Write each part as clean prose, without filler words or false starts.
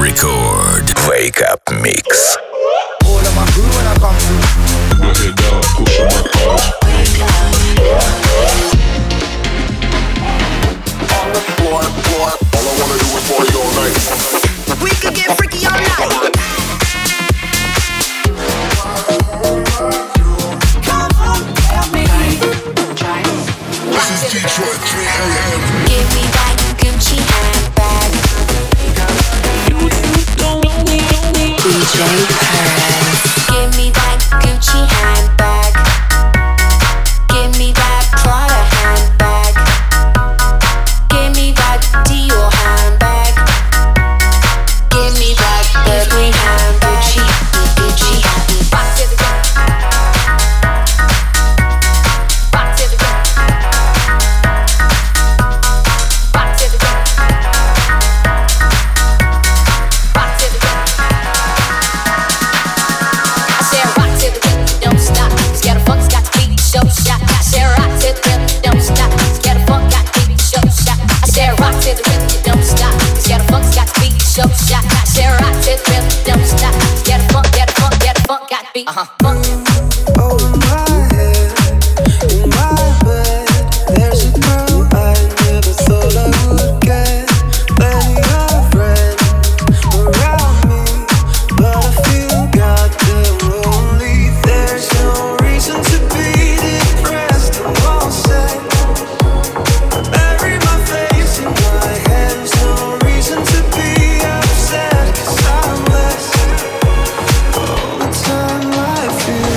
Record. Wake Up Mix. All of my crew when I come through. Put your head down, push your records. On the floor. All I wanna do is party all night. We could get freaky all night. Come on, help me. This is Detroit 3 a.m. Give me that Gucci handbag. DJ Perez. Give me that Gucci handbag. Give me that Prada handbag. Give me that Dior handbag. Give me that Burberry handbag. Gucci. Rock to the rhythm. Rock to the rhythm. Rock to the rhythm. Rock to the rhythm. I said rock to the rhythm, don't stop. Scatter funk's got the beat, show shot. I said rock to the rhythm, don't stop. Scatter funk got the beat, show shot. I said rock to the rhythm, don't stop. Scatter funk's got the beat, show shot. I said rock to the rhythm, don't stop. Scatter funk got the beat. Funk. Over my head, in my bed, there's a girl I never thought I would get. Many a friend around me, but I feel goddamn lonely. There's no reason to be depressed. I'm all set. Bury my face in my hands. No reason to be upset, 'cause I'm blessed. All the time I feel.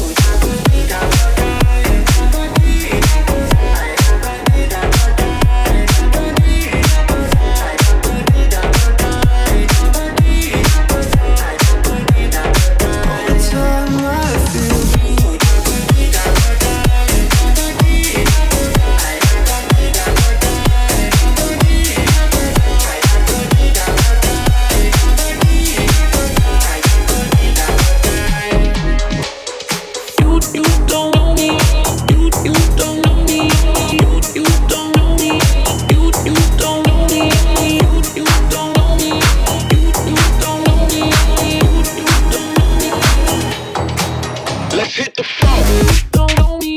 Let's hit the phone.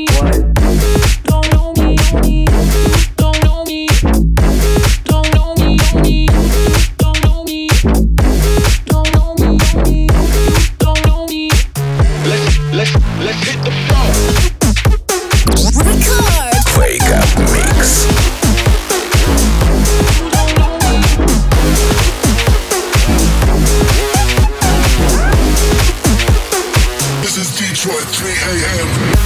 Let's hit the phone. Wake Up Mix. This is Detroit 3 a.m.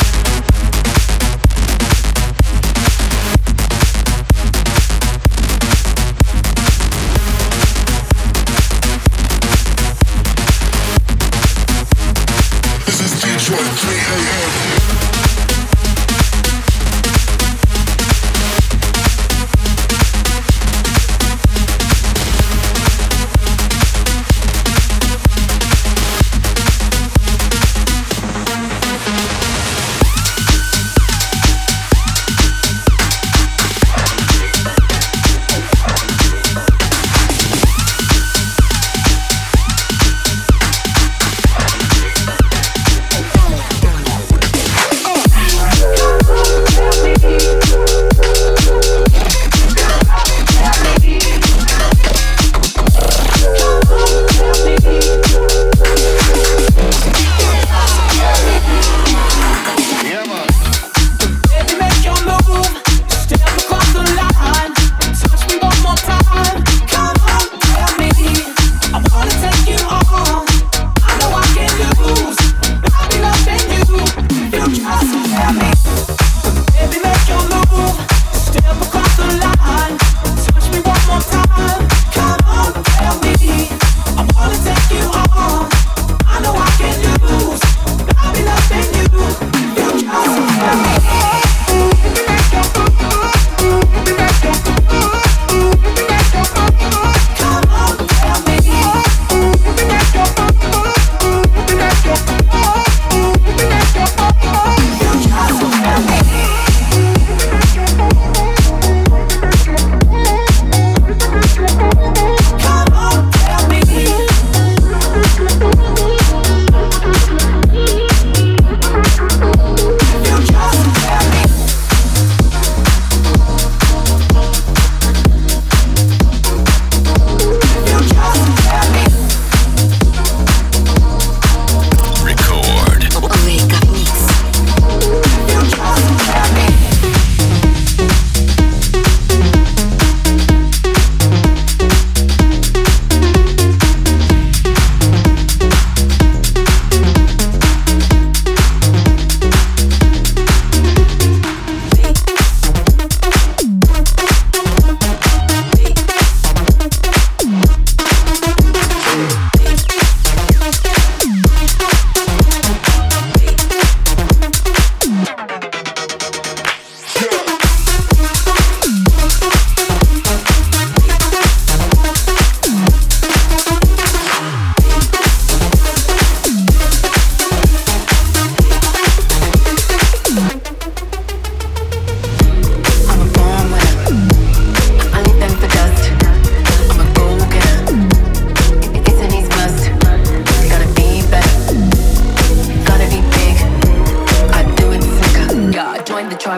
This is Detroit 3 a.m.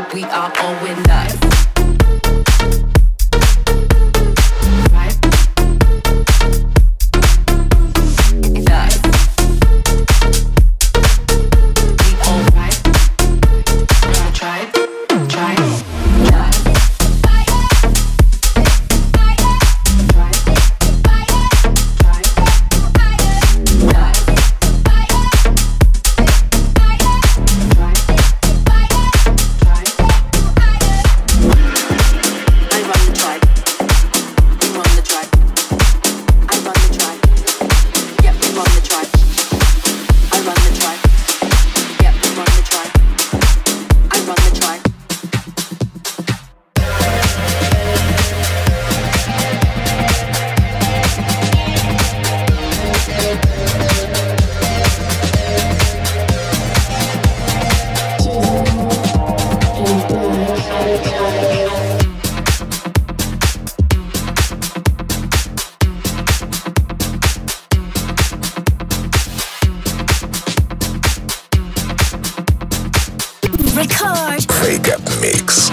we are going nuts. Wake Up Mix.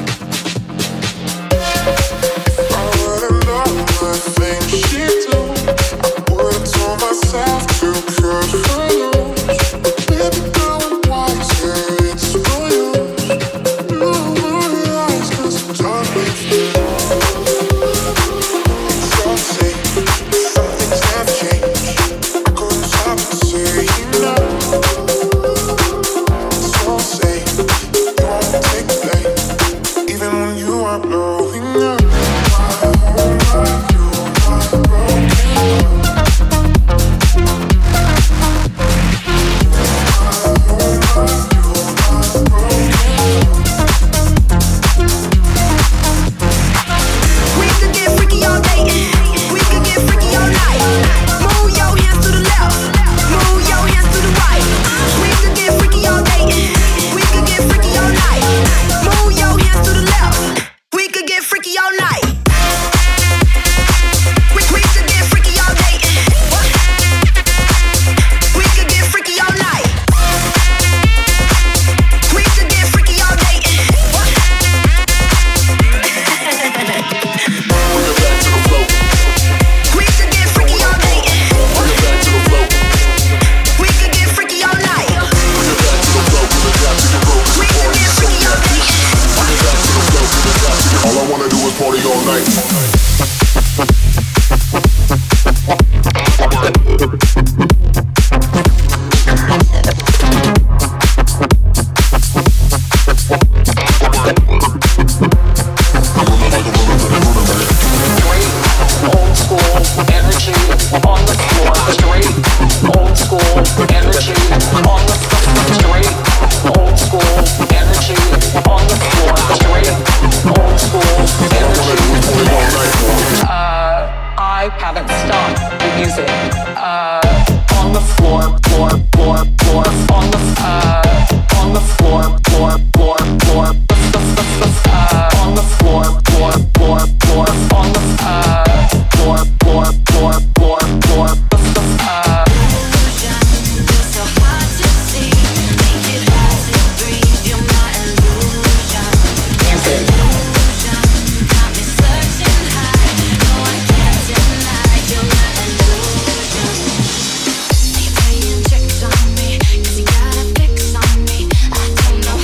Checked on me, 'cause you got a fix on me. I don't know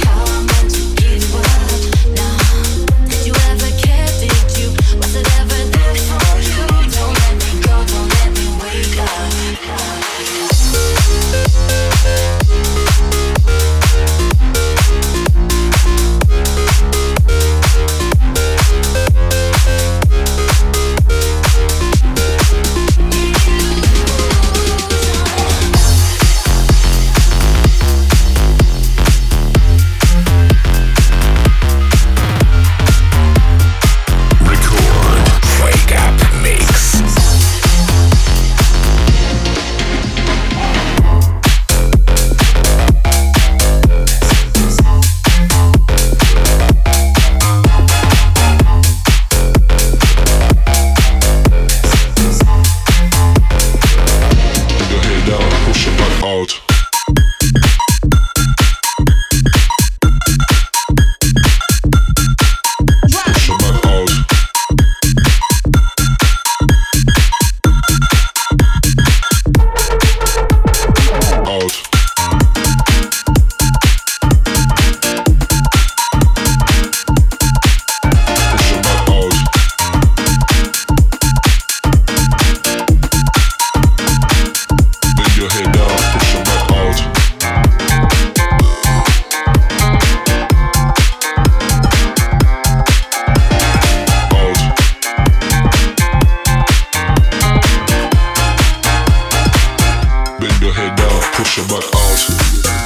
push your back out.